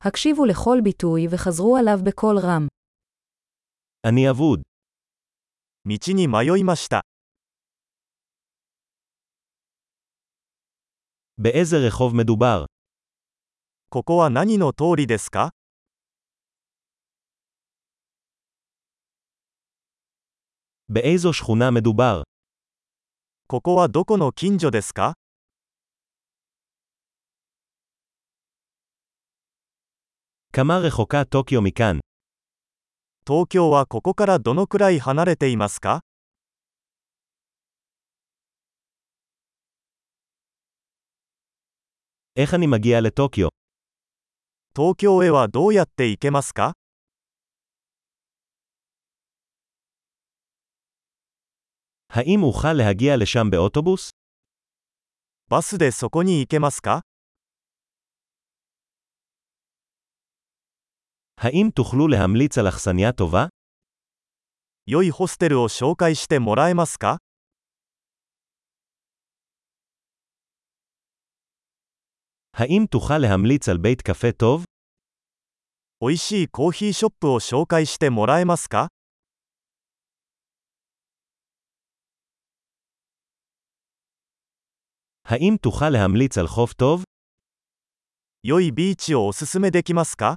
הקשיבו לכל ביטוי וחזרו עליו בקול רם. אני אבוד. 道に迷いました。 באיזה רחוב מדובר? ここは何の通りですか？ באיזו שכונה מדובר? ここはどこの近所ですか？ כמה רחוקה טוקיו מכאן? 東京はここからどのくらい離れていますか？ איך אני מגיע לטוקיו? 東京へはどうやって行けますか？ האם אוכל להגיע לשם באוטובוס? バスでそこに行けますか？ האם תוכלו להמליץ על אכסניה טובה? 良いホステルを紹介してもらえますか？ האם תוכל להמליץ על בית קפה טוב? おいしいコーヒーショップを紹介してもらえますか？ האם תוכל להמליץ על חוף טוב? 良いビーチをおすすめできますか？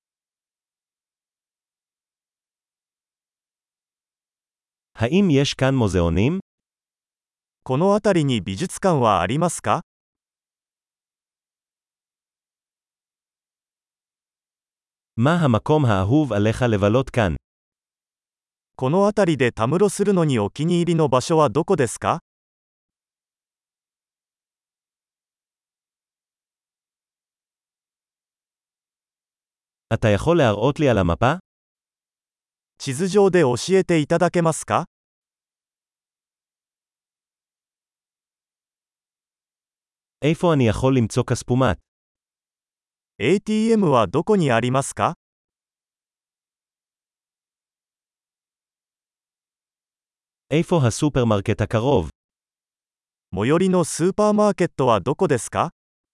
האם יש כאן מוזיאונים? この辺りに美術館はありますか？ מה המקום האהוב עליך לבלות כאן? この辺りでたむろするのにお気に入りの場所はどこですか？ אתה יכול להראות לי על המפה? 地図上で教えていただけますか？ איפה אני יכול למצוא כספומט? ATM はどこにありますか？ איפה הסופרמרקט הקרוב? 最寄りのスーパーマーケットはどこですか？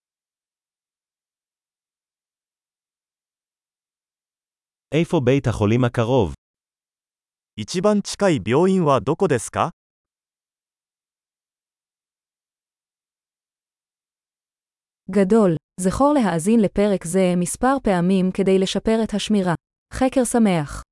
איפה בית החולים הקרוב? 一番近い病院はどこですか？ גדול. זכור להאזין לפרק זה מספר פעמים כדי לשפר את השמירה. חקר שמח.